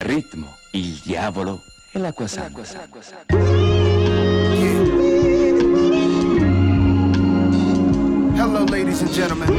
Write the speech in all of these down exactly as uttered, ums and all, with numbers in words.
ritmo, il diavolo e l'acqua santa. Hello, ladies and gentlemen.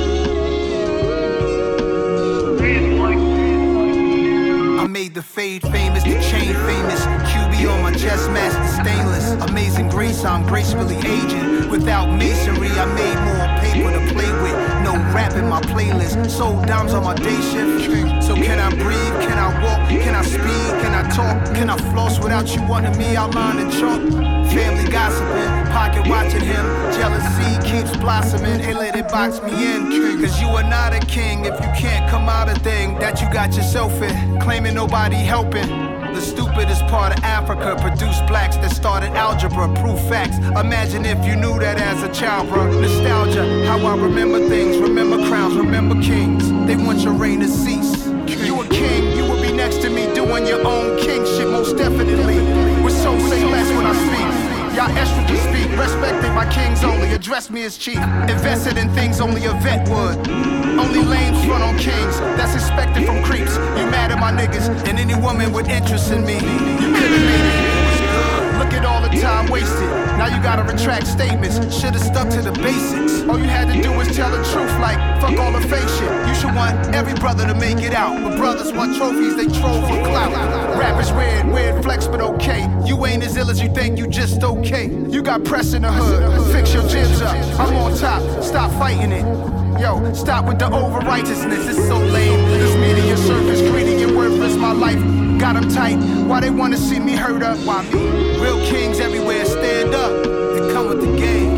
I made the fade famous, the chain famous. Q B on my chest, master stainless. Amazing grace, I'm gracefully aging. Without masonry, I made more paper to play with. No rap in my playlist. Sold dimes on my day shift. So can I breathe? Can I walk? Can I speed? Can I talk? Can I floss without you wanting me outlined in chalk? Family gossiping, pocket watching him. Jealousy keeps blossoming. They let it box me in. Cause you are not a king if you can't come out a thing that you got yourself in. Claiming nobody helping. The stupidest part of Africa produced blacks that started algebra, proof facts. Imagine if you knew that as a child, bro. Nostalgia, how I remember things, remember crowns, remember kings. They want your reign to cease. You a king, you will be next to me doing your own king shit, most definitely. With so say less when I speak. Y'all estrogen speak, respected by kings only. Address me as chief. Invested in things only a vet would. Only lames front on kings, that's expected from creeps. You mad at my niggas, and any woman with interest in me. You could've made it, it was good. Look at all the time wasted. Now you gotta retract statements. Should've stuck to the basics. All you had to do was tell the truth, like fuck all the fake shit. You should want every brother to make it out, but brothers want trophies, they troll for clout. Rap is weird, weird flex, but okay. You ain't as ill as you think, you just okay. You got press in the hood, fix your jibs up. I'm on top, stop fighting it. Yo, stop with the over-righteousness, it's so lame. This media surface, greedy and worthless, my life got them tight. Why they wanna see me hurt up? Why me? Real kings everywhere, stand up and come with the game.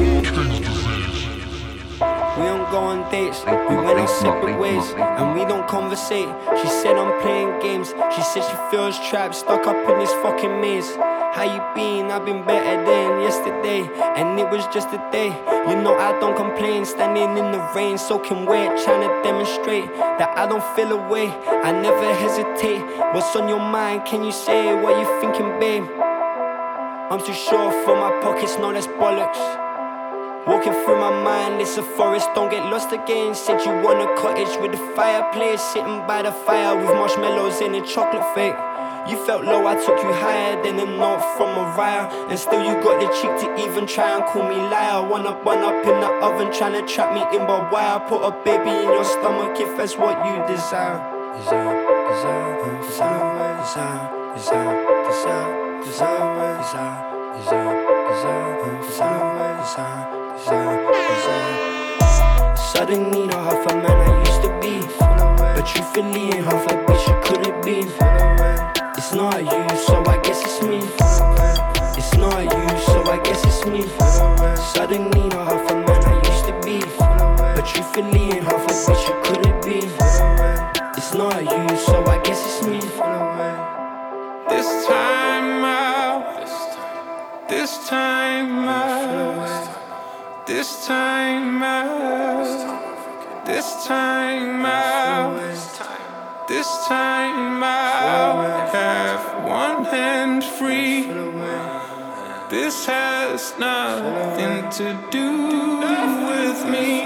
We don't go on dates, we went our separate ways, and we don't conversate. She said I'm playing games, she said she feels trapped, stuck up in this fucking maze. How you been? I've been better than yesterday, and it was just a day. You know I don't complain, standing in the rain, soaking wet, trying to demonstrate that I don't feel away, I never hesitate. What's on your mind? Can you say what you thinking, babe? I'm too short for my pockets, no that's bollocks. Walking through my mind, it's a forest, don't get lost again. Said you want a cottage with a fireplace, sitting by the fire with marshmallows and a chocolate fake. You felt low, I took you higher than a note from Mariah, and still you got the cheek to even try and call me liar. One up, one up in the oven, trying to trap me in by wire. Put a baby in your stomach if that's what you desire. Desire, desire, desire, desire, desire, desire, desire, desire, desire, desire, desire, desire, desire. Suddenly not half a man I used to be, but truthfully ain't half a bitch you couldn't be. It's not you, so I guess it's me. It's not you, so I guess it's me. Suddenly not half a man I used to be, but truthfully ain't half a bitch you couldn't be. It's not you, so I guess it's me. This time out, this time out, this time out, this time out. This time I'll have one hand free. This has nothing to do with me.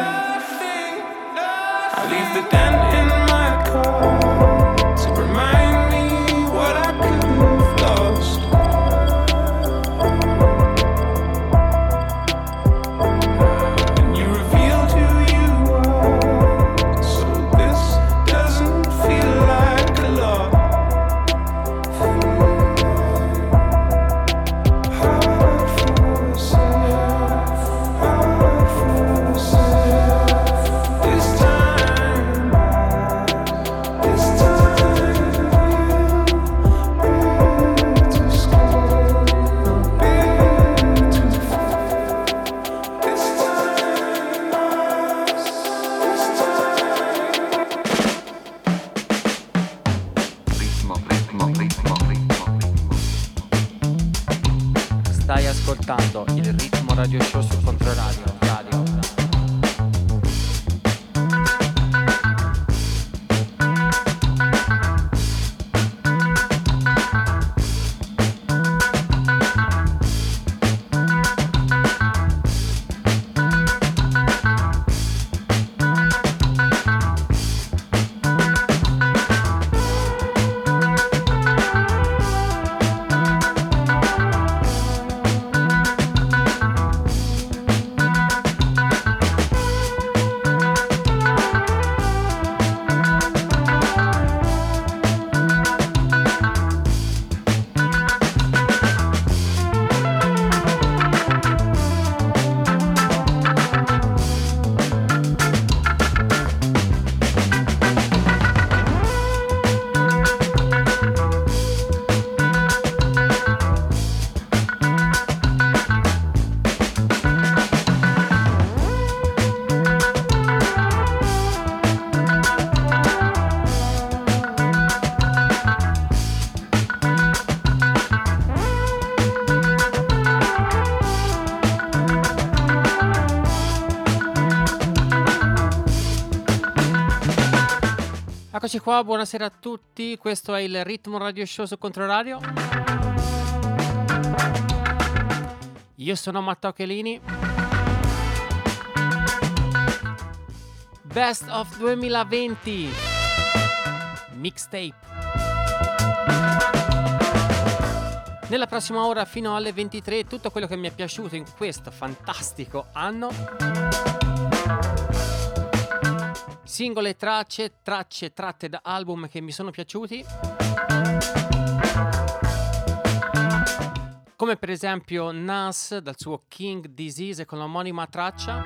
I leave the dent in my car to remind me what I could have lost. And you revealed who you are, so this doesn't feel like a lot. Hard for yourself, hard for yourself. This time, this time we'll be too scared, be too far. This time, this time. Ritmo, ritmo, ritmo, ritmo. Stai ascoltando il Ritmo Radio Show su Controradio. Radio. Eccoci qua, buonasera a tutti, questo è il Ritmo Radio Show su Controradio. Io sono Matteo Chelini. Best of duemilaventi Mixtape. Nella prossima ora fino alle ventitré tutto quello che mi è piaciuto in questo fantastico anno. Singole tracce, tracce tratte da album che mi sono piaciuti, come per esempio Nas dal suo King Disease con l'omonima traccia,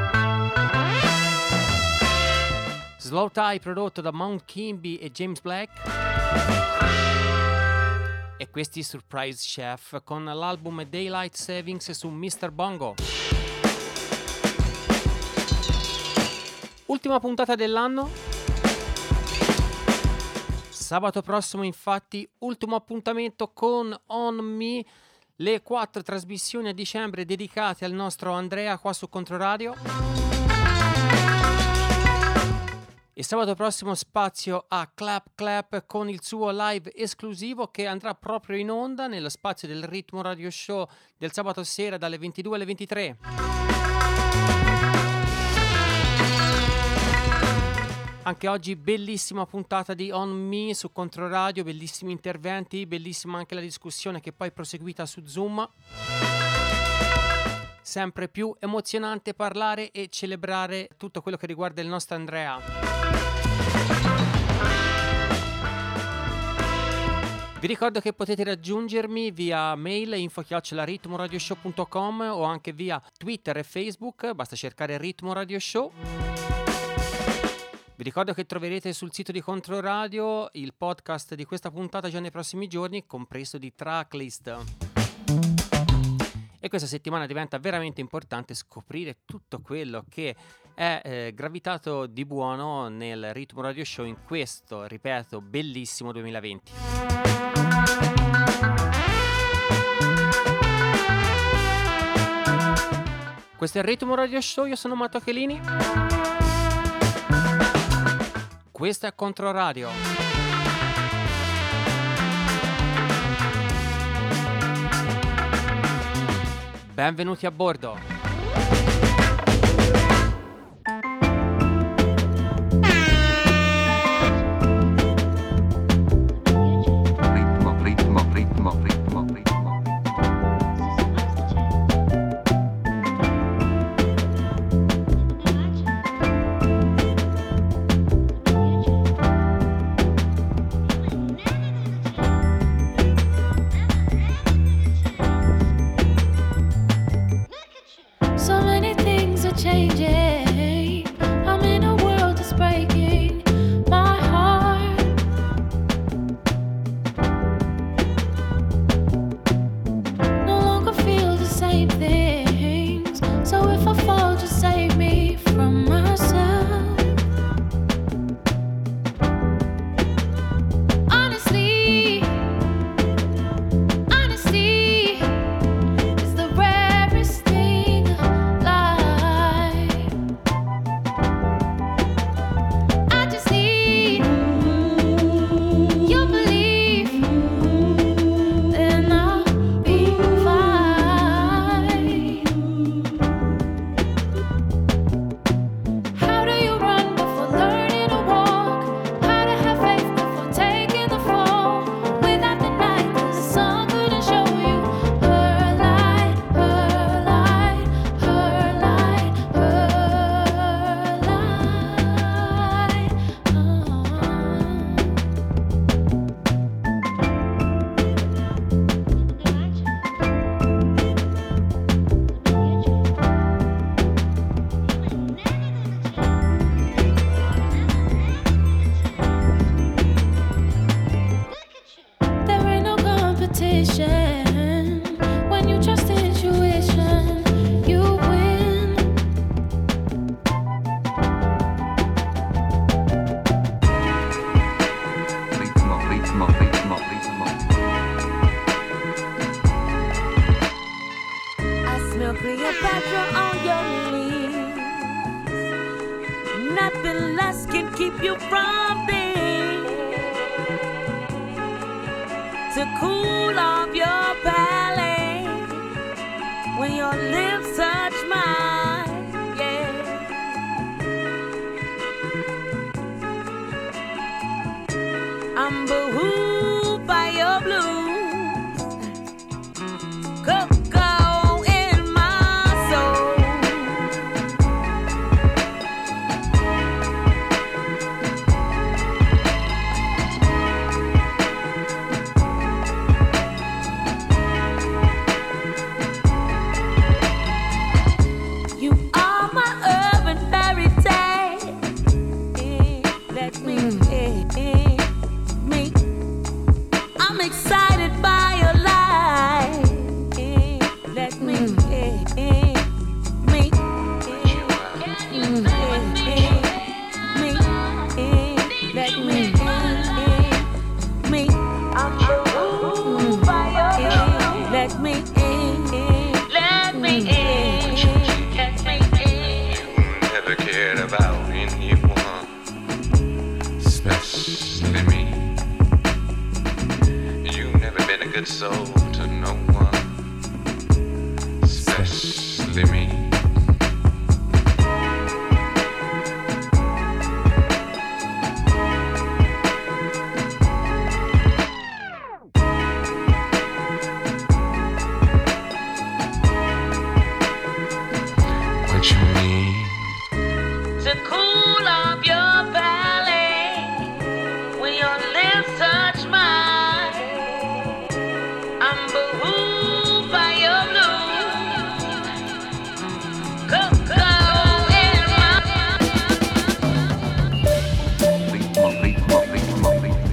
Slow Tie prodotto da Mount Kimby e James Black, e questi Surprise Chef con l'album Daylight Savings su mister Bongo. Ultima puntata dell'anno. Sabato prossimo infatti ultimo appuntamento con On Me, le quattro trasmissioni a dicembre dedicate al nostro Andrea qua su Controradio. E sabato prossimo spazio a Clap Clap con il suo live esclusivo che andrà proprio in onda nello spazio del Ritmo Radio Show del sabato sera dalle ventidue alle ventitré. Anche oggi bellissima puntata di On Me su Controradio, bellissimi interventi, bellissima anche la discussione che poi è proseguita su Zoom. Sempre più emozionante parlare e celebrare tutto quello che riguarda il nostro Andrea. Vi ricordo che potete raggiungermi via mail info chiocciola ritmoradioshow punto com o anche via Twitter e Facebook, basta cercare Ritmo Radio Show. Vi ricordo che troverete sul sito di Controradio il podcast di questa puntata già nei prossimi giorni, compreso di tracklist. E questa settimana diventa veramente importante scoprire tutto quello che è eh, gravitato di buono nel Ritmo Radio Show in questo, ripeto, bellissimo duemilaventi. Questo è il Ritmo Radio Show, io sono Matteo Chelini. Questo è Controradio. Benvenuti a bordo. Ritmo, ritmo, ritmo, ritmo, ritmo. Nothing less can keep you from being to cool off your palate when your lips touch mine, yeah. I'm behooved by your blues, cocoa in my soul. You are my urban fairy tale. Eh, Let me, eh, eh, me. I'm excited by your light. Eh, Let me, eh, eh, me. Eh, eh, me. Eh, Let me, eh, eh, me. I'm moved by your love. Let me in. Let me in. Let me in. Never cared about anyone, especially me. You've never been a good soul to no one, especially me. What you need? To cool off your palate when your lips touch mine. I'm behooved by your blues, cocoa in my Motley, Motley, Motley, Motley.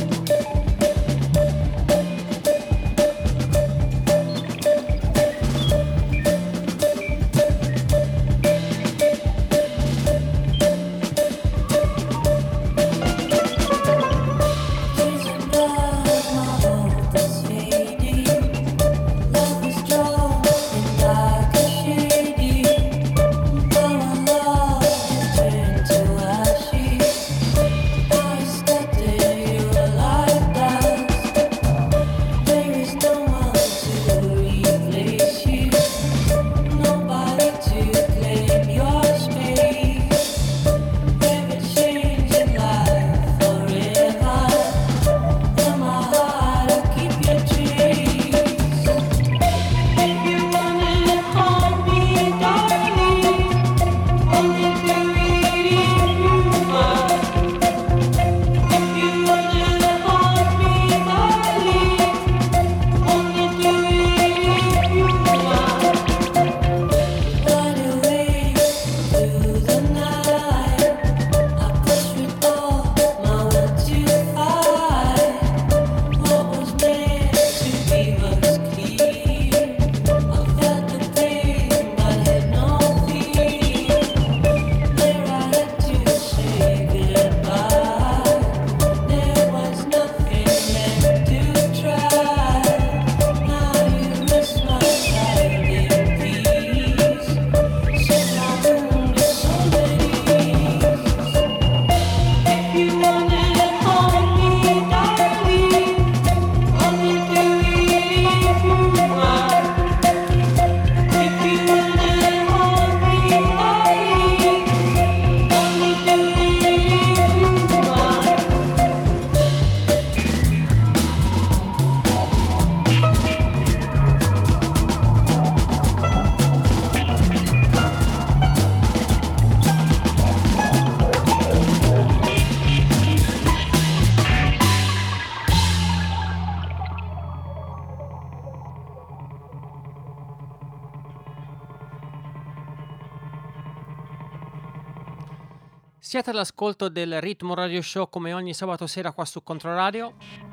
Siete all'ascolto del Ritmo Radio Show come ogni sabato sera qua su Controradio.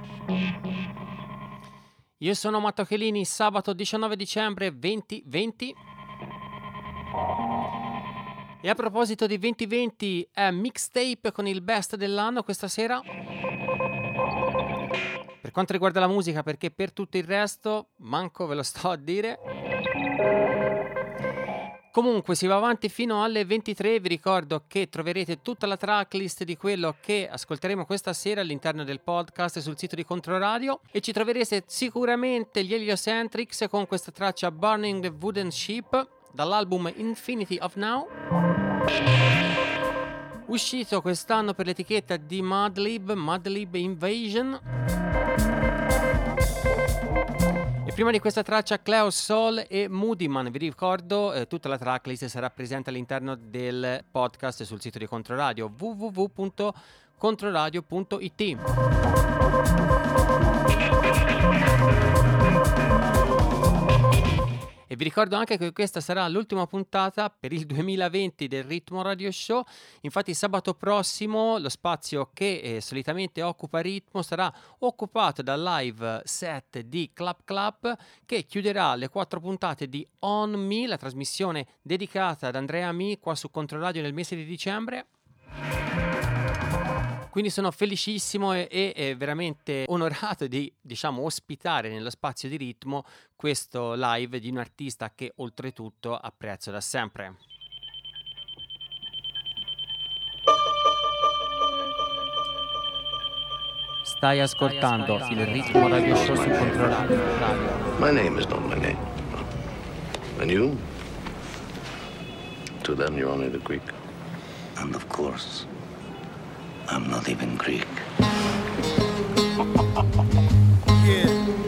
Io sono Matteo Chelini, sabato diciannove dicembre duemilaventi. E a proposito di duemilaventi, è mixtape con il best dell'anno questa sera. Per quanto riguarda la musica, perché per tutto il resto manco ve lo sto a dire. Comunque si va avanti fino alle ventitré, vi ricordo che troverete tutta la tracklist di quello che ascolteremo questa sera all'interno del podcast sul sito di Controradio e ci troverete sicuramente gli Heliocentrics con questa traccia Burning the Wooden Ship dall'album Infinity of Now, uscito quest'anno per l'etichetta di Madlib, Madlib Invasion. E prima di questa traccia Cleo Soul e Moody Man. Vi ricordo eh, tutta la tracklist sarà presente all'interno del podcast sul sito di Controradio w w w punto controradio punto i t. E vi ricordo anche che questa sarà l'ultima puntata per il duemilaventi del Ritmo Radio Show. Infatti sabato prossimo lo spazio che eh, solitamente occupa Ritmo sarà occupato dal live set di Club Club, che chiuderà le quattro puntate di On Me, la trasmissione dedicata ad Andrea Mi qua su Controradio nel mese di dicembre. Quindi sono felicissimo e, e, e veramente onorato di, diciamo, ospitare nello spazio di Ritmo questo live di un artista che oltretutto apprezzo da sempre. Stai ascoltando il Ritmo Radio Show su Controradio. My name is not my name. And you? To them, you're only the Greek. And of course, I'm not even Greek. Yeah.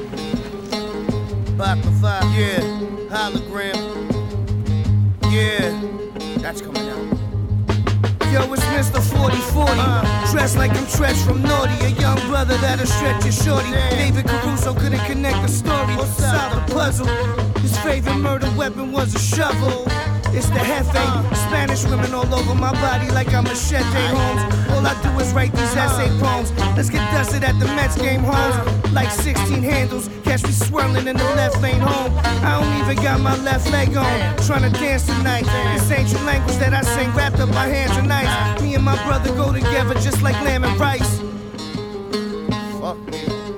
Baklava, yeah. Hologram. Yeah. That's coming out. Yo, it's Mister forty forty. Uh, Dressed like I'm Tresh from Naughty. A young brother that'll stretch your shorty. Damn. David Caruso couldn't connect the story. Solve the puzzle. His favorite murder weapon was a shovel. It's the Hefe, uh, Spanish women all over my body like I'm Machete Holmes. All I do is write these essay poems. Let's get dusted at the Mets game homes. Like sixteen handles, catch me swirling in the left lane home. I don't even got my left leg on. Trying to dance tonight. This ancient language that I sing wrapped up my hands and knives. Me and my brother go together just like lamb and rice. Fuck me.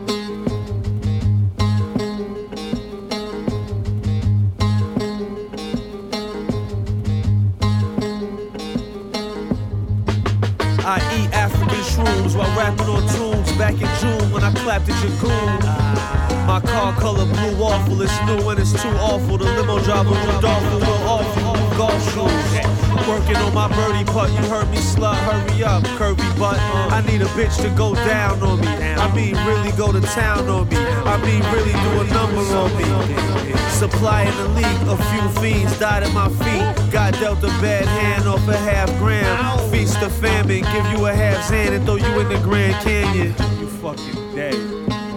I eat African shrooms while rapping on tunes back in June when I clapped at your goon. My car color blue awful, it's new and it's too awful. The limo driver Rudolph will offer you golf shoes. Working on my birdie putt, you heard me slut, hurry up, curvy butt. I need a bitch to go down on me. I mean really go to town on me. I mean really do a number on me. Supply in the league, a few fiends died at my feet. Got dealt a bad hand off a half gram. Feast the famine, give you a half hand and throw you in the Grand Canyon. You fucking dead.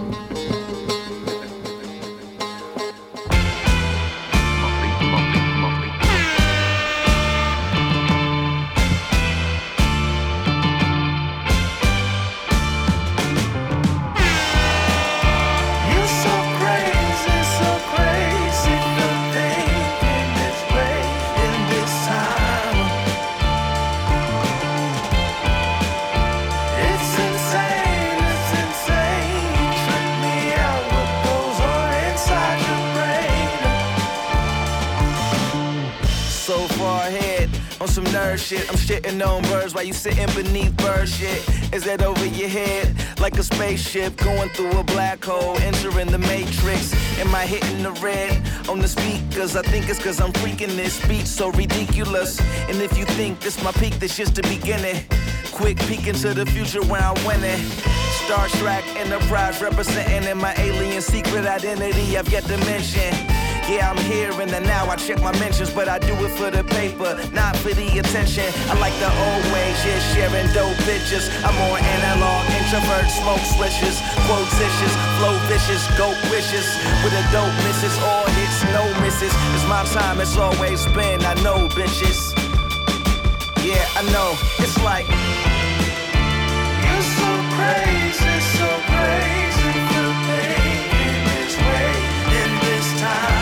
Shit. I'm shitting on birds while you sitting beneath bird shit. Is that over your head? Like a spaceship going through a black hole, entering the matrix. Am I hitting the red on the speakers? I think it's cause I'm freaking this speech so ridiculous. And if you think this my peak, this just the beginning. Quick peek into the future where I'm winning. Star Trek Enterprise representing in my alien secret identity I've yet to mention. Yeah, I'm here in the now, I check my mentions, but I do it for the paper, not for the attention. I like the old ways, yeah, sharing dope pictures. I'm more analog, introvert, smoke switches, quotitious, flow vicious, goat wishes. With a dope misses, all hits, no misses. It's my time, it's always been, I know, bitches. Yeah, I know, it's like you're so crazy, so crazy for making this way in this time.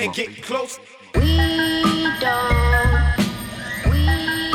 and get close. We don't, we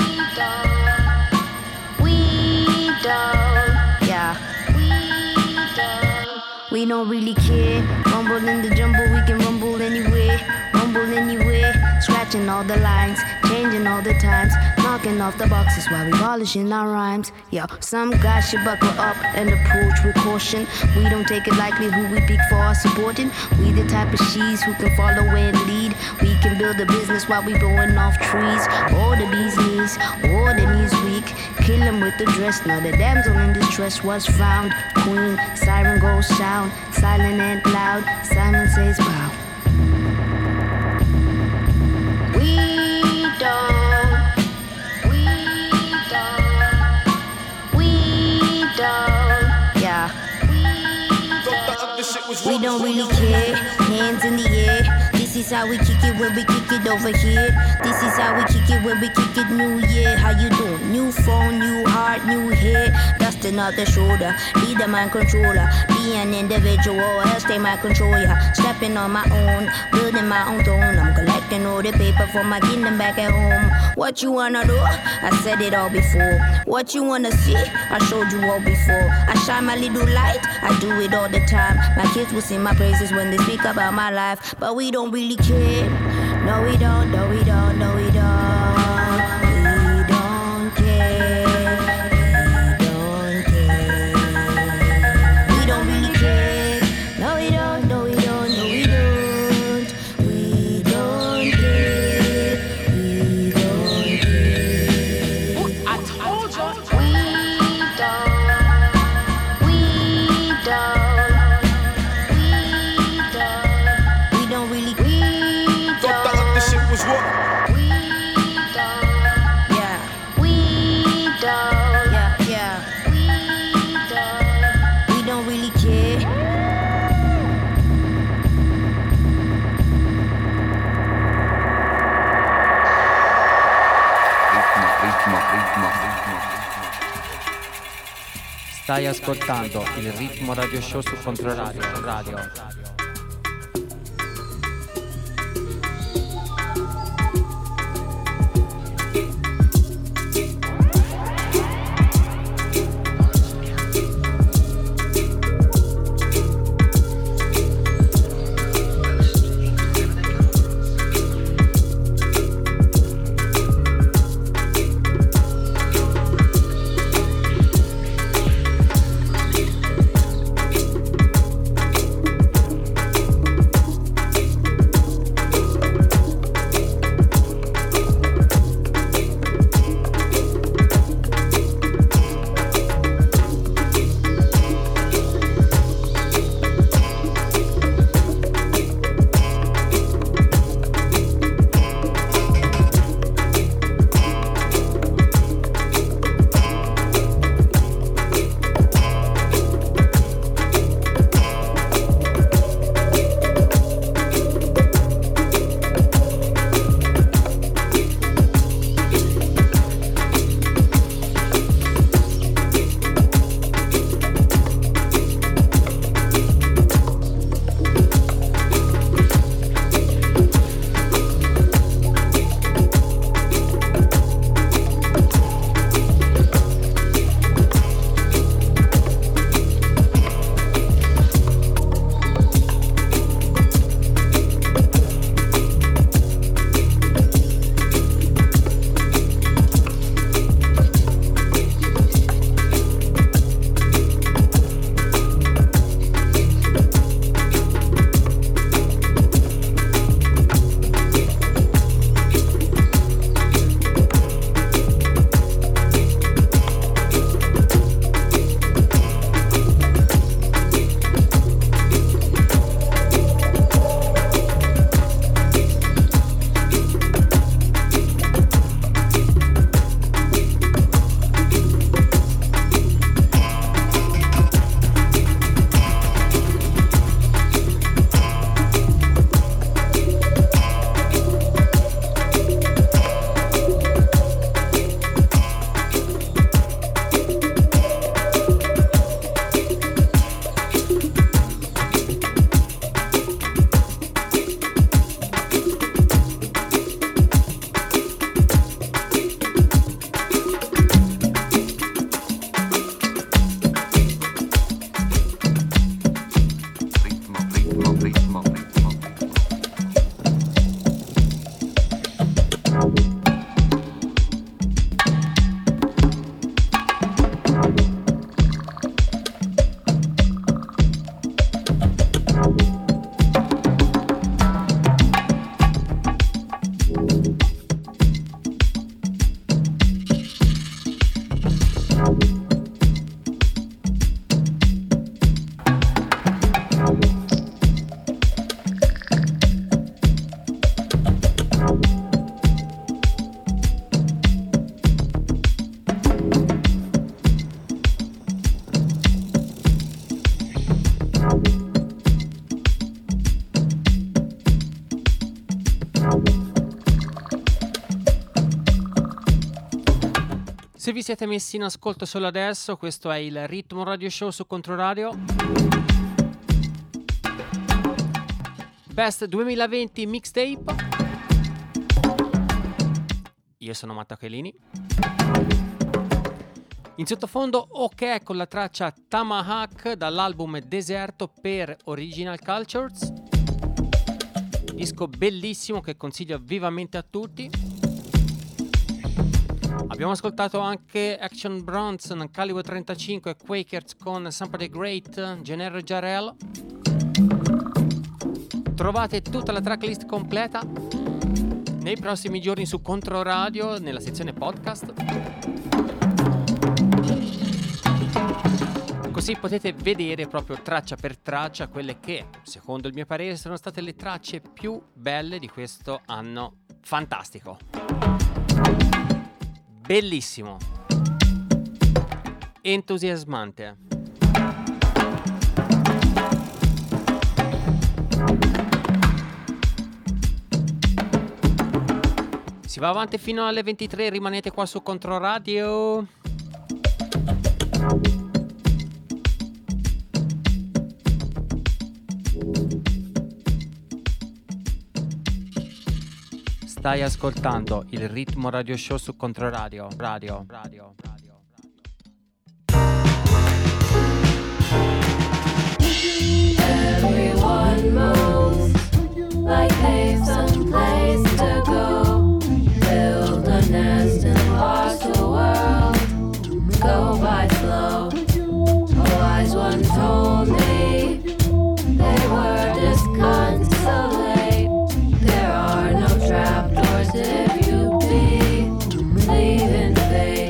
don't, we don't, yeah. We don't, we don't really care. Rumble in the jumble, we can rumble anywhere, rumble anywhere. Scratching all the lines, changing all the times, knocking off the boxes while we polishing our rhymes. Yo, some guys should buckle up and approach with caution. We don't take it lightly who we pick for our supporting. We the type of she's who can follow and lead. We can build a business while we blowing off trees. Or the bee's knees, or the knees weak. Kill him with the dress. Now the damsel in distress was found. Queen, siren goes sound, silent and loud. Simon says wow. We don't, we don't, we don't, yeah. We don't really care, hands in the air. This is how we kick it when we kick it over here. This is how we kick it when we kick it new year. How you doing? New phone, new heart, new hair. Dusting off the shoulder, be the mind controller. Be an individual, else they might control ya. Stepping on my own, building my own throne. I'm collecting all the paper for my kingdom back at home. What you wanna do? I said it all before. What you wanna see? I showed you all before. I shine my little light, I do it all the time. My kids will sing my praises when they speak about my life. But we don't really care. No we don't, no we don't, no we don't. We don't care. We don't care. We don't really care. No we don't, no we don't, no we don't. We don't care. We don't care. I told you. We don't. We don't. Stai ascoltando il Ritmo Radio Show su Controradio Radio. Se vi siete messi in ascolto solo adesso, questo è il Ritmo Radio Show su Controradio. Best duemilaventi Mixtape. Io sono Matteo Chelini. In sottofondo OK con la traccia Tamahawk dall'album Deserto per Original Cultures. Disco bellissimo che consiglio vivamente a tutti. Abbiamo ascoltato anche Action Bronson, Calibre trentacinque, Quakers con Somebody Great, Gennaro Jarrell. Trovate tutta la tracklist completa nei prossimi giorni su Controradio nella sezione podcast. Così potete vedere proprio traccia per traccia quelle che, secondo il mio parere, sono state le tracce più belle di questo anno fantastico. Bellissimo. Entusiasmante. Si va avanti fino alle ventitré, rimanete qua su Controradio. Stai ascoltando il Ritmo Radio Show su Controradio. Radio, radio, radio, radio. Everyone moves like they've someplace to go. Build a nest and watch the world go by slow. A wise one told me they were disconsolate. There are no trapdoors if you believe in fate.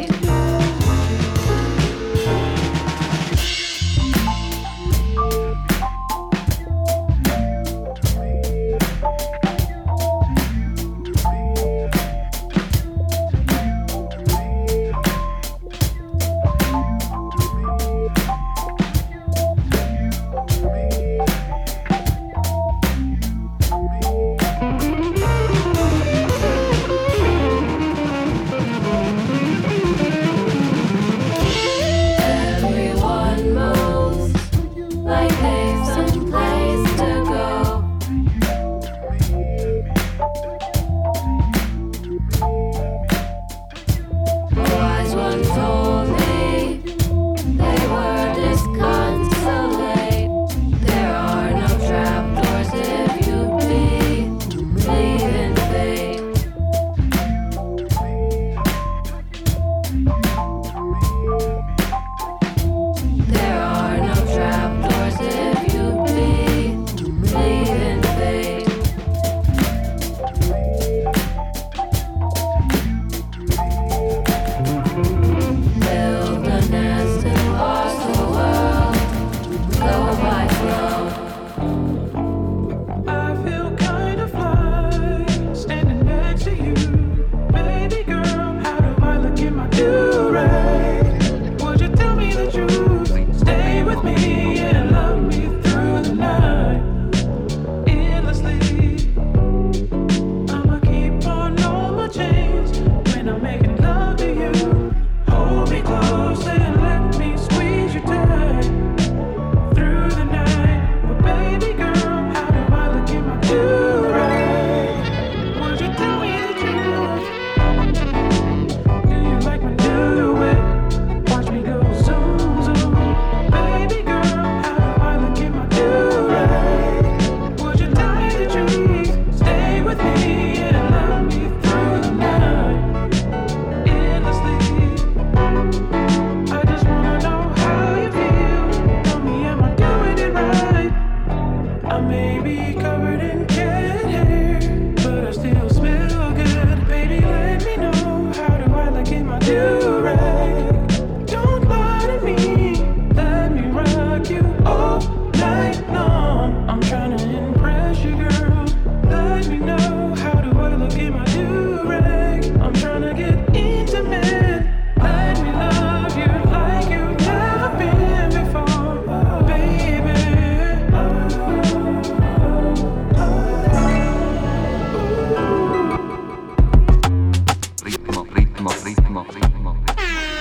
ritmo, ritmo, ritmo, ritmo.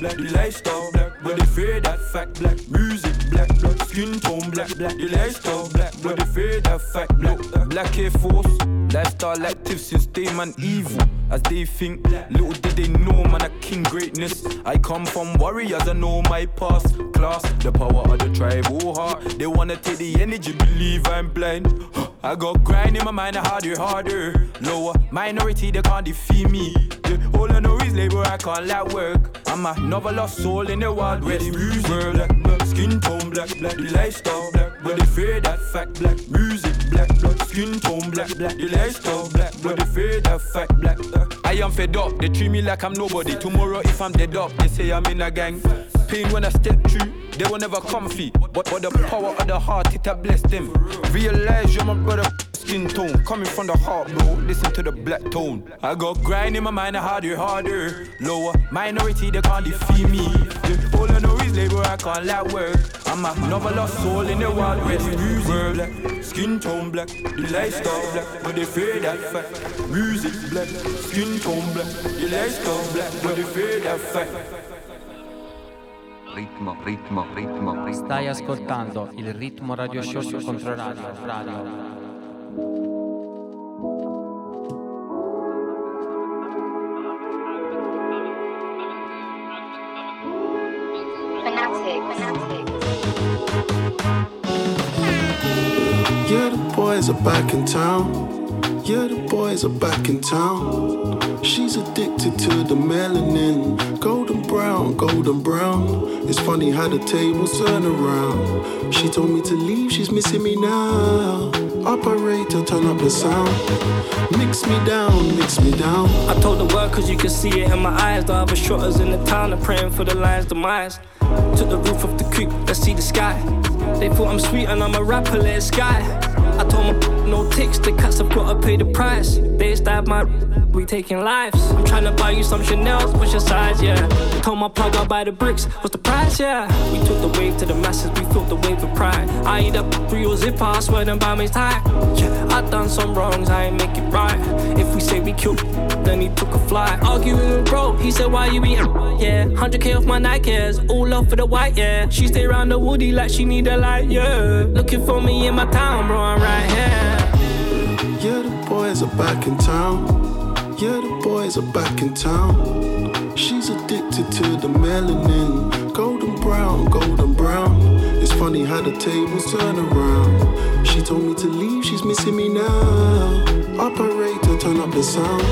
black, the lifestyle black, but they fear that fact black. Music black, black, skin tone black, black, the lifestyle black, but they fear that fact black. Black Air Force, lifestyle active since day man evil. As they think, little did they know man a king greatness. I come from warriors, I know my past class. The power of the tribal heart. They wanna take the energy, believe I'm blind. I got grind in my mind, harder, harder. Lower minority, they can't defeat me. Yeah, all I know is labor, I can't let work. I'm a novelist soul in the world where the music black, black, skin tone black, black, the lifestyle black, but they fear that fact black. Music black, black, skin tone black, black, the lifestyle black, but they fear that fact black. I am fed up, they treat me like I'm nobody. Tomorrow if I'm dead up, they say I'm in a gang. Pain when I step through, they were never comfy. But, but the power of the heart, it has blessed them. Realize you're my brother, skin tone. Coming from the heart, bro, listen to the black tone. I got grind in my mind, harder, harder. Lower minority, they can't defeat me. Yeah, all I know is labor, I can't let work. I'm a novelist soul in the world where the music black, skin tone black, the lifestyle black, but they fear that fact. Music black, skin tone black, the lifestyle black, but they fear that fact. Ritmo, ritmo, ritmo, ritmo. Stai ascoltando il Ritmo Radio Show su Controradio. Radio. Yeah, the boys are back in town. Yeah, the boys are back in town. She's addicted to the melanin. Golden brown, golden brown. It's funny how the tables turn around. She told me to leave, she's missing me now. Operator, turn up the sound. Mix me down, mix me down. I told the world cause you can see it in my eyes. The other shotters in the town are praying for the lion's demise. Took the roof off the coupe, let's see the sky. They thought I'm sweet and I'm a rapper, let it sky. I told my no ticks, the cats have gotta pay the price. They stab my, we taking lives. I'm trying to buy you some Chanel's, what's your size, yeah. Told my plug I'll buy the bricks, what's the price, yeah. We took the wave to the masses, we felt the wave of pride. I eat up real zipper, I swear them by me tight. Yeah, I done some wrongs, I ain't make it right. If we say we killed, then he took a flight. Arguing with bro, he said why you eating, yeah. one hundred K off my Nikes, all off for the white, yeah. She stay round the woody like she need a light, yeah. Looking for me in my town, bro, I'm right here. Yeah, the boys are back in town. Yeah, the boys are back in town. She's addicted to the melanin. Golden brown, golden brown. It's funny how the tables turn around. She told me to leave, she's missing me now. Operator, turn up the sound.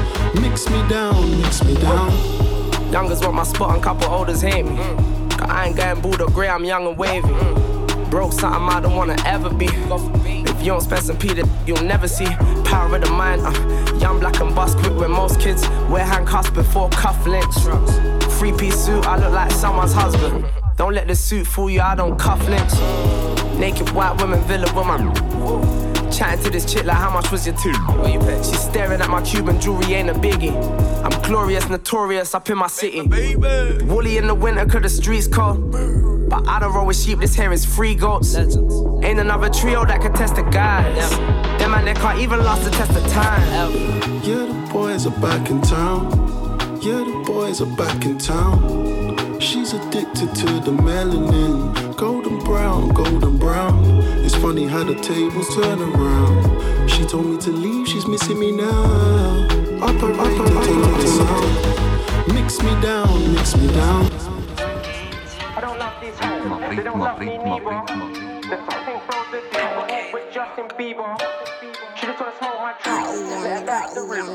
Mix me down, mix me down. Youngers want my spot and couple olders hate me. Cause I ain't getting booed or grey, I'm young and wavy. Broke something I don't wanna ever be. If you don't spend some P, then you'll never see. Power of the mind, uh, young black and bust quick with most kids. Wear handcuffs before cufflinks. Three-piece suit, I look like someone's husband. Don't let the suit fool you, I don't cuff links. Naked white women, villa woman. Chatting to this chick like how much was your tooth? She's staring at my Cuban jewelry, ain't a biggie. I'm glorious, notorious up in my city. Woolly in the winter cause the streets cold. But I don't roll with sheep, this here is free goats. Ain't another trio that can test the guys. Them man, they can't even last the test of time. Yeah, the boys are back in town. Yeah, the boys are back in town. She's addicted to the melanin. Golden brown, golden brown. It's funny how the tables turn around. She told me to leave, she's missing me now. Operator, turn up the sound. Mix me down, mix me down. I don't love these hoes, they don't love me neither. There's something frozen deep with Justin Bieber. She just wanna smoke my tracks, let back the real.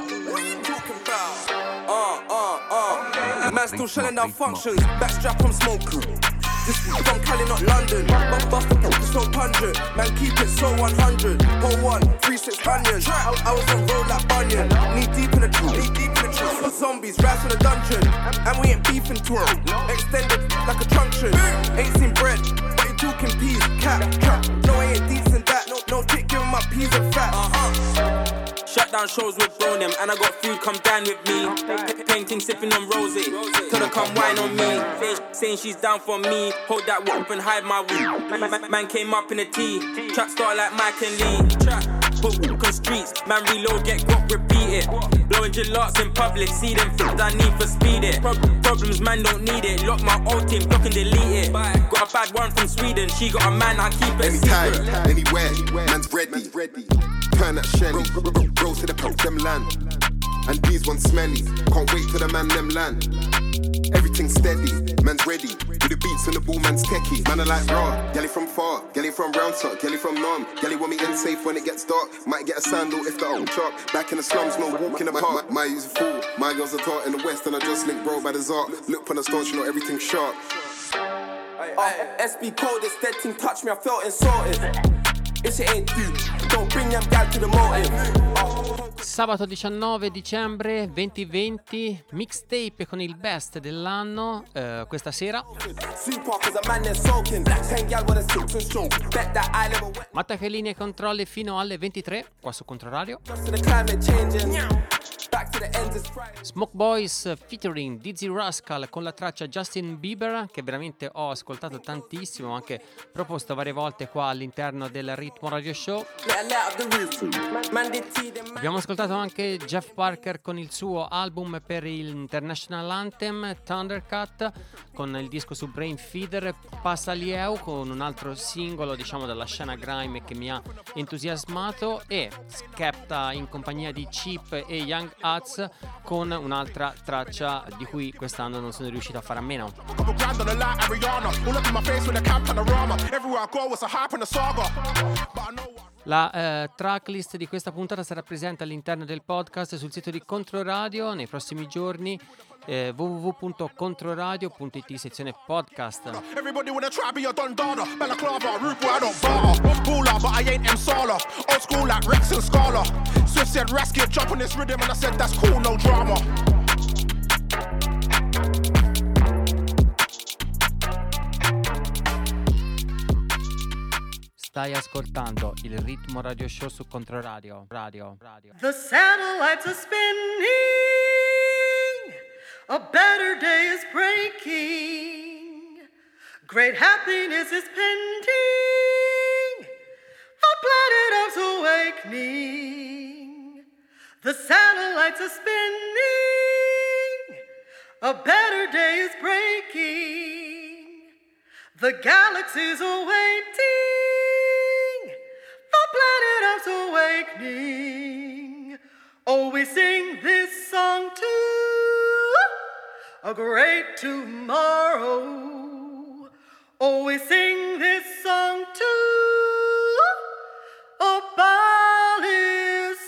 Uh, uh, uh. Man still shelling down functions, backstrap on smoke crew. This from Cali, not London. But bust the book so pungent. Man, keep it so one hundred. Pull one, three, six onions. I, I was on road like Bunyan. Knee deep in the truth, knee deep in the truth. For zombies, rats in a dungeon. And we ain't beefing to it. Extended like a truncheon. Ain't seen bread, but you talking peas. Cat, cat. No, I ain't decent that. No, no dick giving my peas and fat. Uh-huh. Shut down shows with bro them, and I got food, come dine with me. Painting, sipping on rosé. Tell her come wine on me. Saying she's down for me. Hold that whoop and hide my weed. Man, man came up in a T. Trap star like Mike and Lee. Trap. but walk on streets. Man reload, get guap, repeat it. Blowing gelatos in public, see them things I need for speed it. Pro- problems, man don't need it. Lock my old team, block and delete it. Got a bad one from Sweden, she got a man, I keep it Anytime, secret. anywhere, man's ready. Turn that Shelly, rose to the pop, them land. And these ones smelly, can't wait till the man them land. Everything steady, man's ready. With the beats and the ball, man's techie. Man, I like raw, galley from far, galley from round top, galley from norm. Galley want me in safe when it gets dark. Might get a sandal if the old chop. Back in the slums, no walk in the park. My, my use a fool, my girls are taught in the west. And I just link bro by the Zark. Look on the stone, you know everything sharp. Uh, S B code, this dead thing touched me, I felt insulted. If it ain't you, don't bring them down to the motive. Uh, Sabato diciannove dicembre duemilaventi, mixtape con il best dell'anno, eh, questa sera. Mattachelini e controlli fino alle ventitré, qua su Controradio. Smoke Boys featuring Dizzy Rascal con la traccia Justin Bieber, che veramente ho ascoltato tantissimo, anche proposto varie volte qua all'interno del Ritmo Radio Show. Abbiamo ascoltato anche Jeff Parker con il suo album per il International Anthem, Thundercat, con il disco su Brain Feeder, Passa Lieu, con un altro singolo diciamo dalla scena grime che mi ha entusiasmato, e Skepta in compagnia di Cheap e Young Huts con un'altra traccia di cui quest'anno non sono riuscito a fare a meno. La eh, tracklist di questa puntata sarà presente all'interno del podcast sul sito di Controradio nei prossimi giorni, eh, w w w punto controradio punto i t sezione podcast. Everybody wanna try be a Don Dada, balaclava, rude boy, I don't barter. Baller, but I ain't M Sala. Old school like Rex and Scala. Swift said Rasket, jump on this rhythm, and I said that's cool, no drama. Stai ascoltando il Ritmo Radio Show su Controradio. Radio, radio. The satellites are spinning, a better day is breaking, great happiness is pending, the planet Earth's awakening. The satellites are spinning, a better day is breaking, the galaxies are waiting, the planet Earth's awakening. Oh, we sing this song to a great tomorrow. Oh, we sing this song to a body's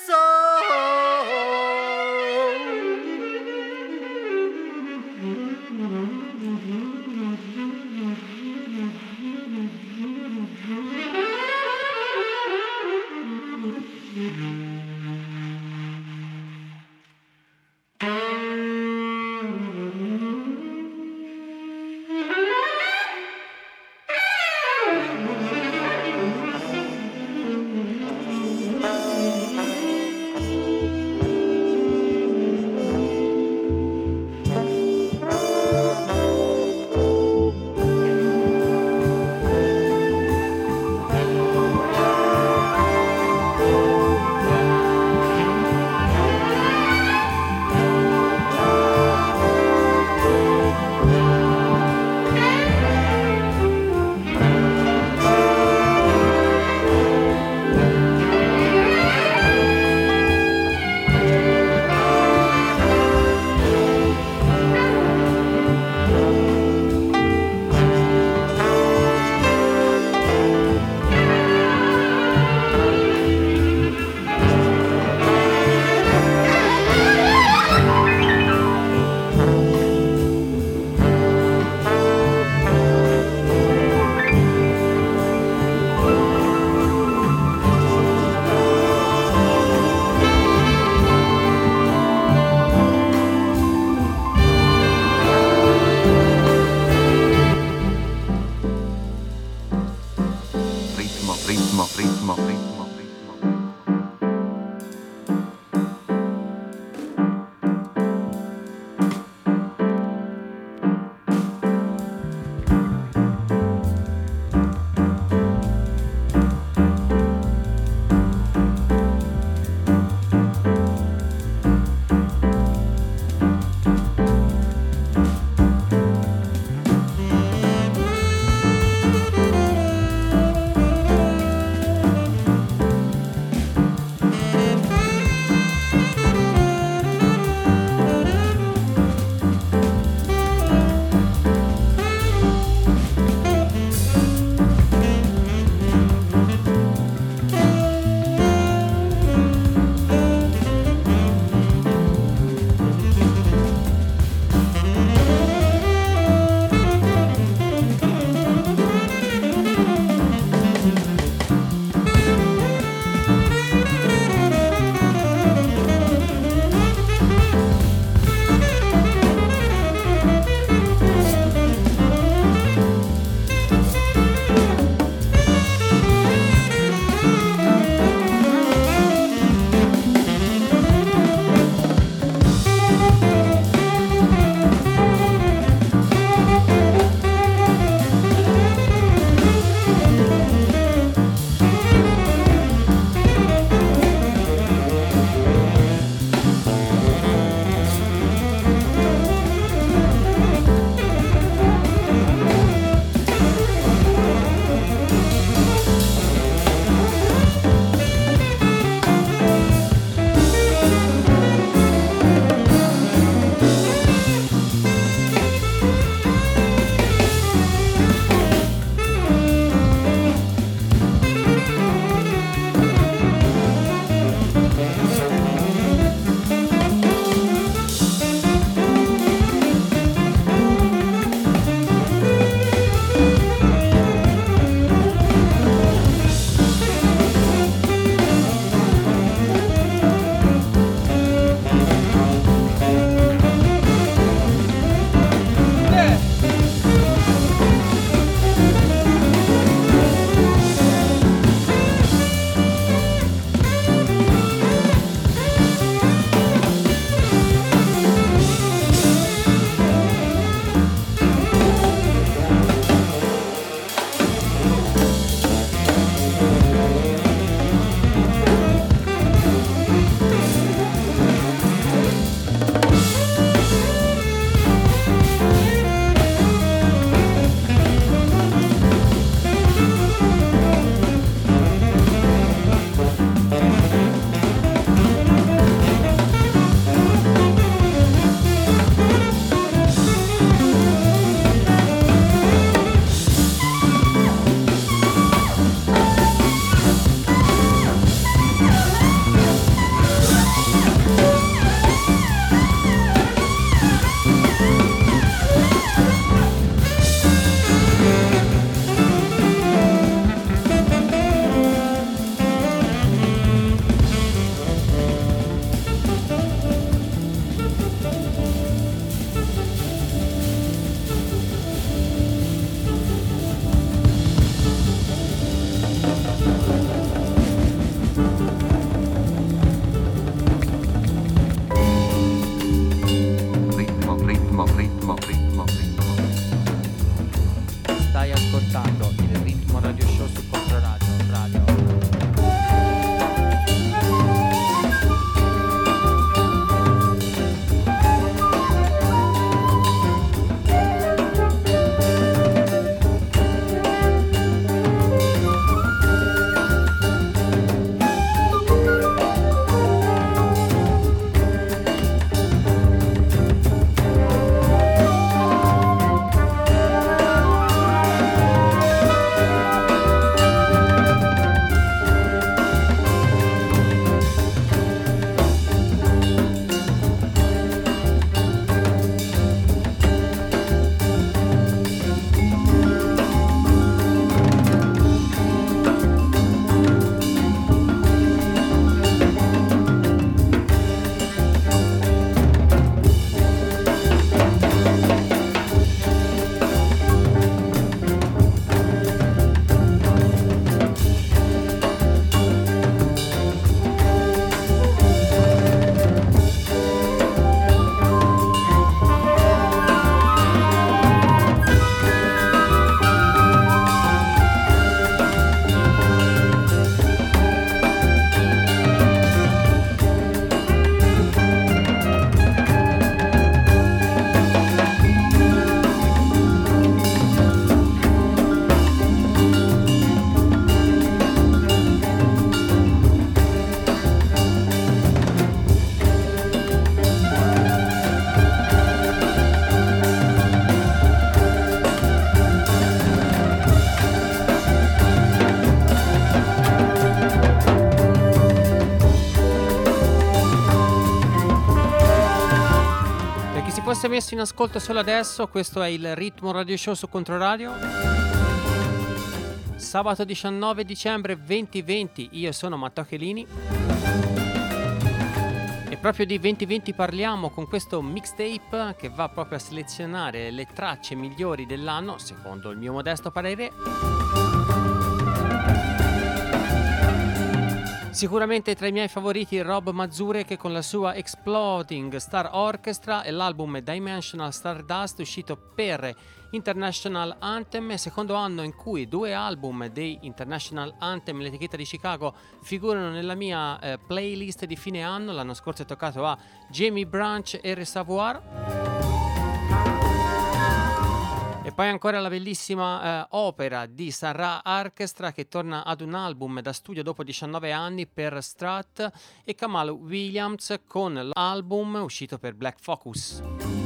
fosse messo in ascolto solo adesso, questo è il Ritmo Radio Show su Controradio. Sabato diciannove dicembre duemilaventi, io sono Matteo Chelini. E proprio di duemilaventi parliamo con questo mixtape che va proprio a selezionare le tracce migliori dell'anno, secondo il mio modesto parere. Sicuramente tra i miei favoriti Rob Mazure, che con la sua Exploding Star Orchestra e l'album Dimensional Stardust uscito per International Anthem, secondo anno in cui due album dei International Anthem, l'etichetta di Chicago, figurano nella mia eh, playlist di fine anno. L'anno scorso è toccato a Jamie Branch e Reservoir. E poi ancora la bellissima eh, opera di Sarah Orchestra, che torna ad un album da studio dopo diciannove anni per Strat e Kamal Williams con l'album uscito per Black Focus.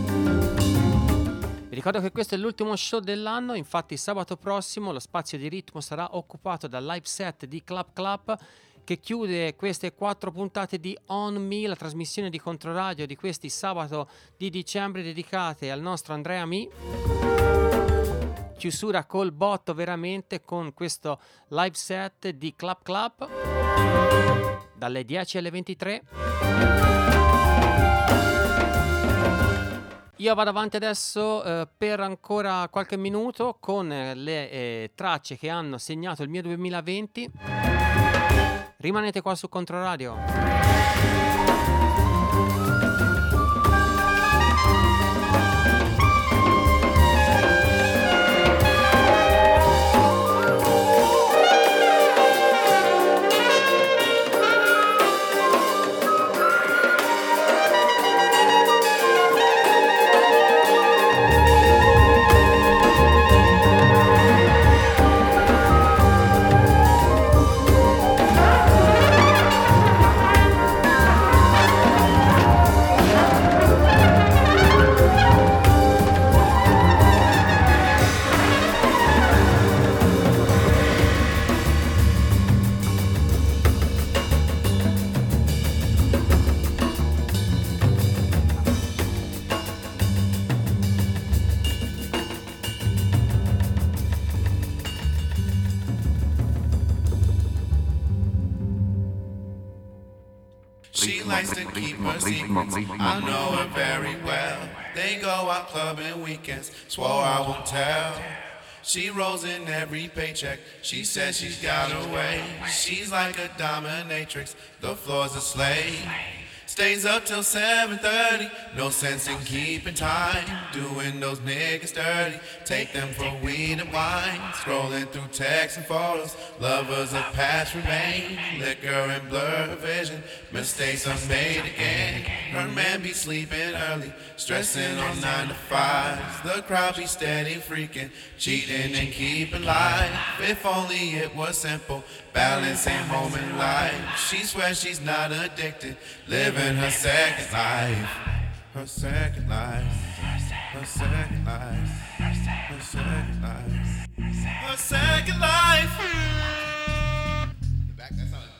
Vi ricordo che questo è l'ultimo show dell'anno, infatti sabato prossimo lo spazio di ritmo sarà occupato dal live set di Club Club, che chiude queste quattro puntate di On Me, la trasmissione di Controradio di questi sabato di dicembre dedicate al nostro Andrea Mi. Chiusura col botto veramente con questo live set di Club Club dalle dieci alle ventitré. Io vado avanti adesso eh, per ancora qualche minuto con le eh, tracce che hanno segnato il mio duemilaventi. Rimanete qua su Controradio. She likes to keep her secrets, I know her very well. They go out clubbing weekends, swore I won't tell. She rolls in every paycheck, she says she's got her way. She's like a dominatrix, the floor's a slave. Stays up till seven thirty, no sense in keeping time. Doing those niggas dirty, take them for weed and wine. Scrolling through texts and photos, lovers of past remain. Liquor and blur vision, mistakes are made again. Her man be sleeping early, stressing on nine to fives. The crowd be steady freaking, cheating and keeping life. If only it was simple, balancing home and life. She swears she's not addicted, living her second life. Her second life. Her second life. Her second life. Her second life. The back, that's how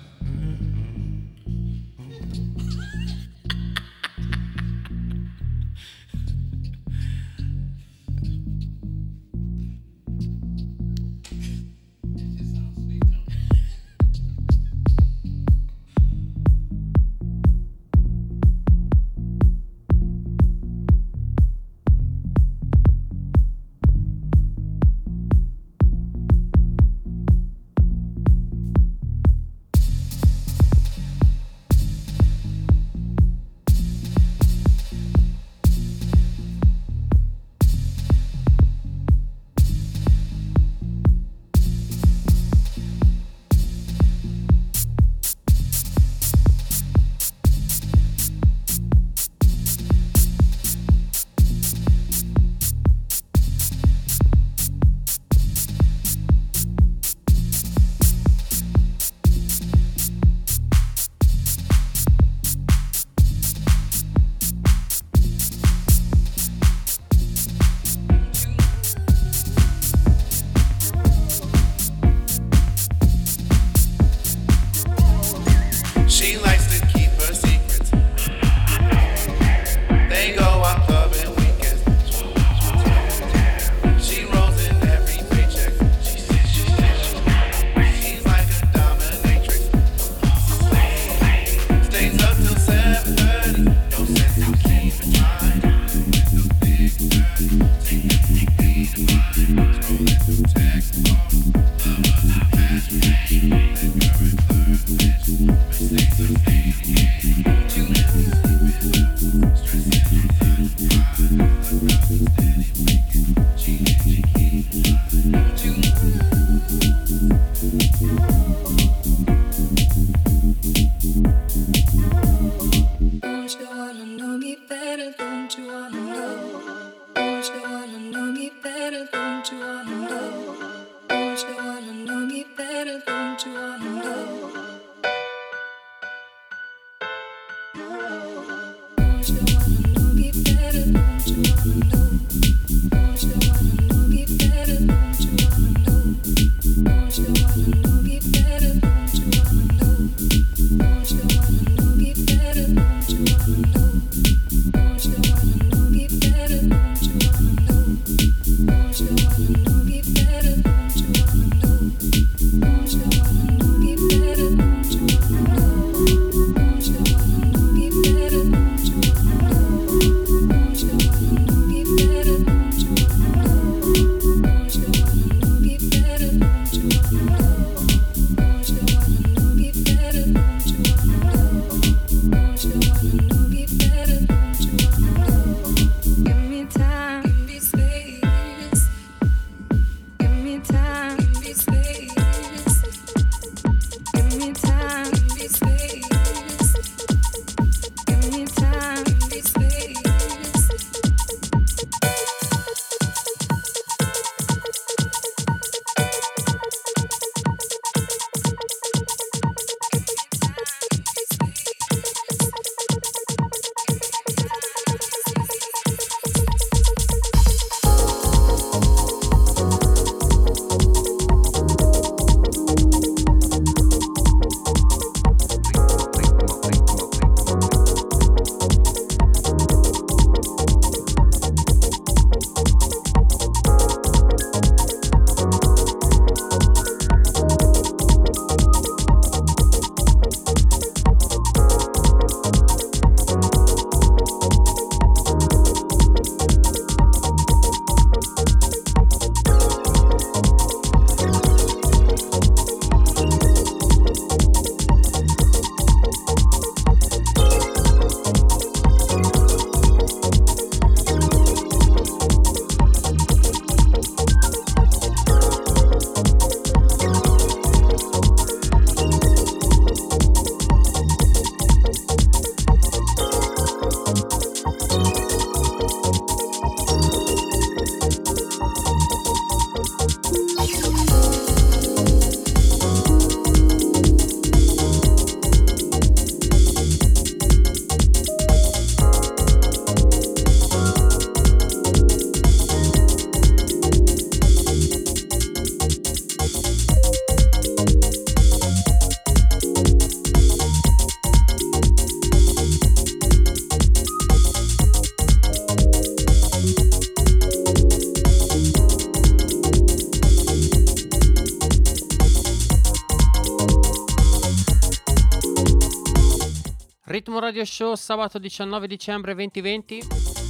Ritmo Radio Show, sabato diciannove dicembre duemilaventi.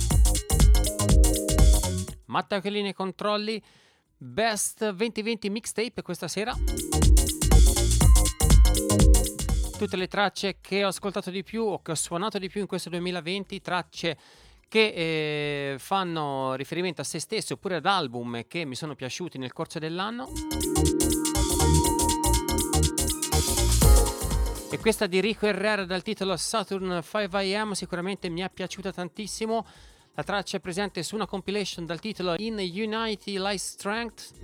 Matteo Chiellini ai controlli. Best duemilaventi mixtape questa sera. Tutte le tracce che ho ascoltato di più o che ho suonato di più in questo duemilaventi, tracce che eh, fanno riferimento a se stesso oppure ad album che mi sono piaciuti nel corso dell'anno. E questa di Rico Herrera dal titolo Saturn cinque A M sicuramente mi è piaciuta tantissimo. La traccia è presente su una compilation dal titolo In Unity Lies Strength.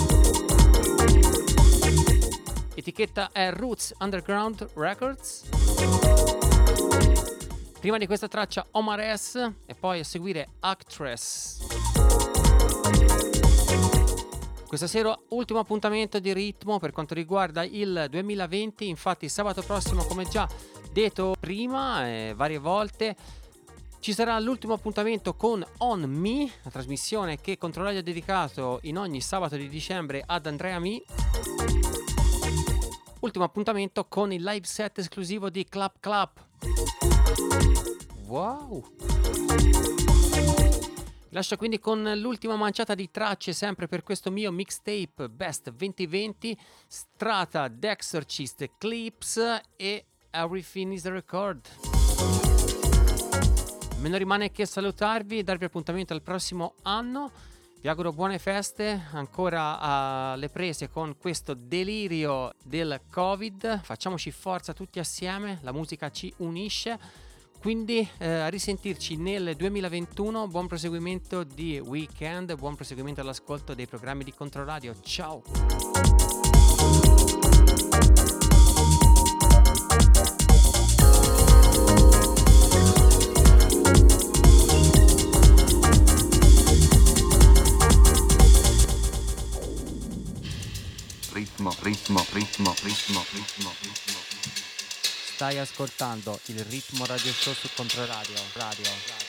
Etichetta è Roots Underground Records. Prima di questa traccia Omar S e poi a seguire Actress. Questa sera ultimo appuntamento di ritmo per quanto riguarda il duemilaventi, infatti sabato prossimo, come già detto prima eh, varie volte, ci sarà l'ultimo appuntamento con On Me, la trasmissione che Controradio ha dedicato in ogni sabato di dicembre ad Andrea Mi. Ultimo appuntamento con il live set esclusivo di Clap Clap. Wow! Lascio quindi con l'ultima manciata di tracce sempre per questo mio mixtape Best duemilaventi, Strata, The Exorcist, Eclipse e Everything is a Record. Me non rimane che salutarvi e darvi appuntamento al prossimo anno. Vi auguro buone feste, ancora alle prese con questo delirio del Covid. Facciamoci forza tutti assieme, la musica ci unisce. Quindi eh, a risentirci nel duemilaventuno, buon proseguimento di weekend, buon proseguimento all'ascolto dei programmi di Controradio. Ciao! Ritmo, ritmo, ritmo, ritmo, ritmo, ritmo. Stai ascoltando il Ritmo Radio Show su Controradio. Radio, radio.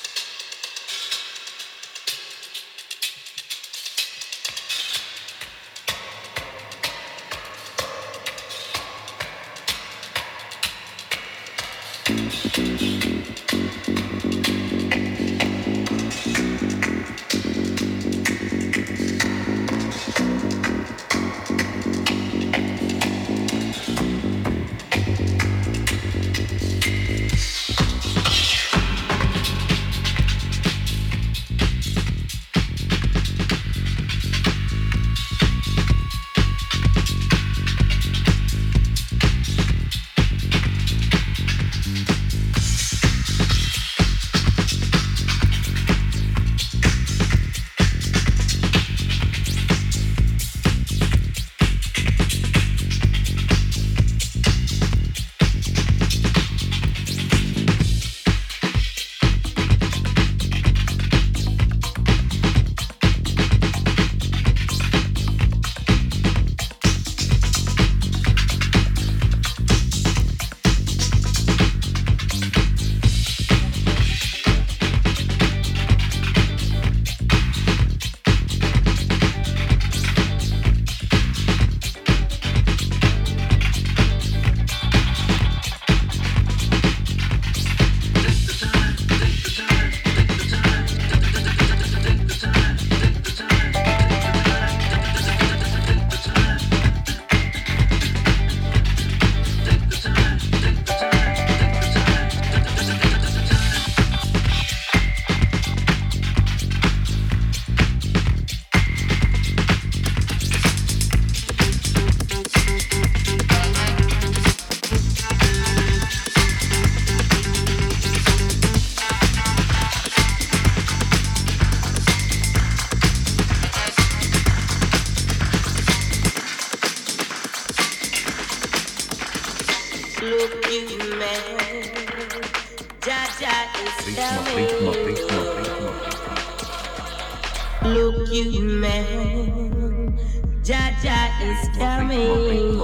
Ritmo, ritmo, ritmo. Look, you man, Jaja is coming.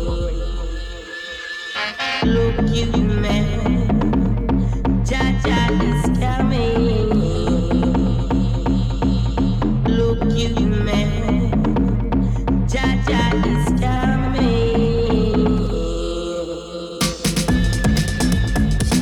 Look, you man, Jaja is coming. Look, you man, Jaja is coming.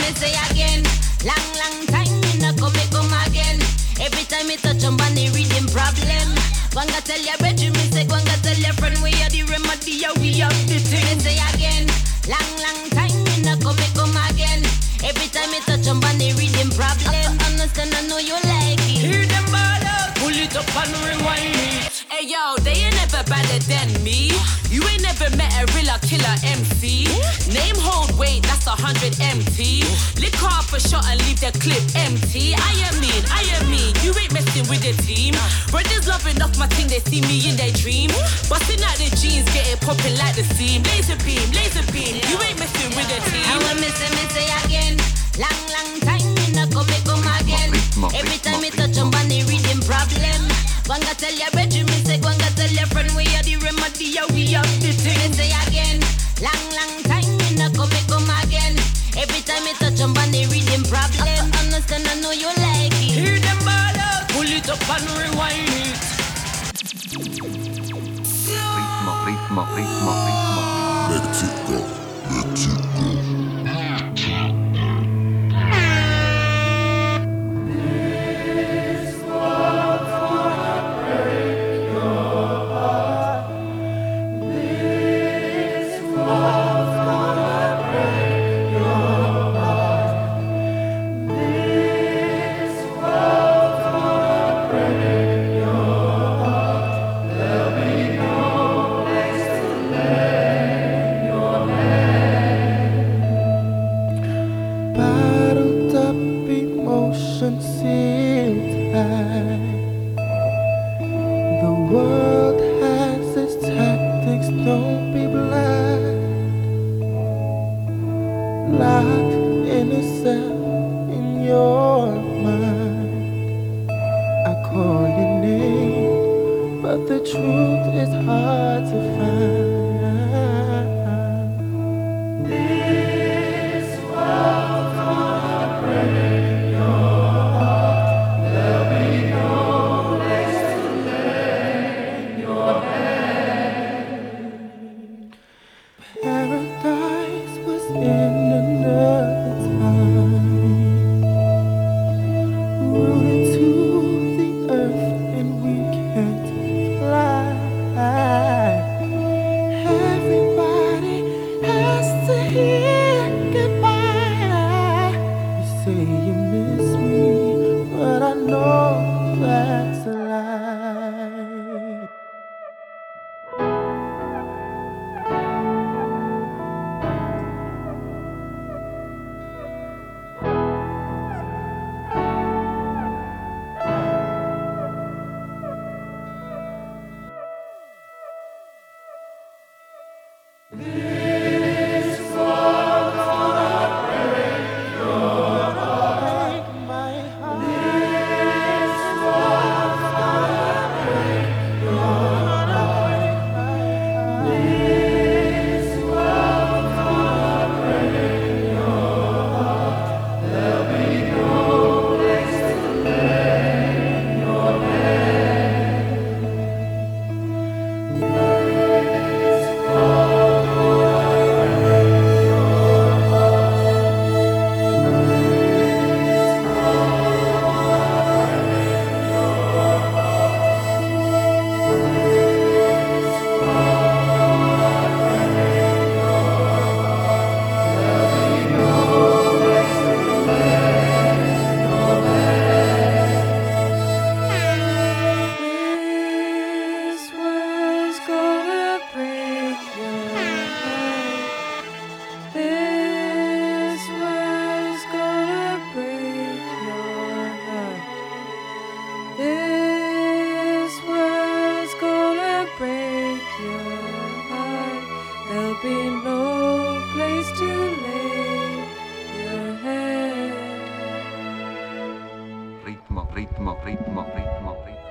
me say again. Long, long time, me no come, me come again. Every time me touch on the rhythm problem. Wanga tell your bedroom, me say, Wanga tell your friend, we are the remedy, yeah, we are the thing. Me say again. Long, long time, me no come, me come again. Every time me touch on the rhythm problem. Understand, I know you like it. Hear them ball out, pull it up and rewind it. Hey yo, they ain't never better than me. You ain't never met a real killer M C. Name hold weight, that's a hundred M T. Lick off a shot and leave the clip empty. I am mean, I am mean. You ain't messing with the team. Brothers loving off my thing, they see me in their dream. Busting out the jeans, get it popping like the seam. Laser beam, laser beam. You ain't messing with the team. I will miss it, miss it again. Long, long time, me no come, me come again. Every time me touch on the rhythm problem. Wanga tell your bedroom, me say, Wanga tell your friend, we are the remedy, yeah, we are the thing. Me say again, long, long time, me no come, me come again. Every time me touch on the rhythm problem. Understand, I know you like it. Hear them ball out, pull it up and rewind it. Ritmo, ritmo, ritmo, ritmo. Let it go, let it go. ritmo, ritmo, ritmo, ritmo, ritmo.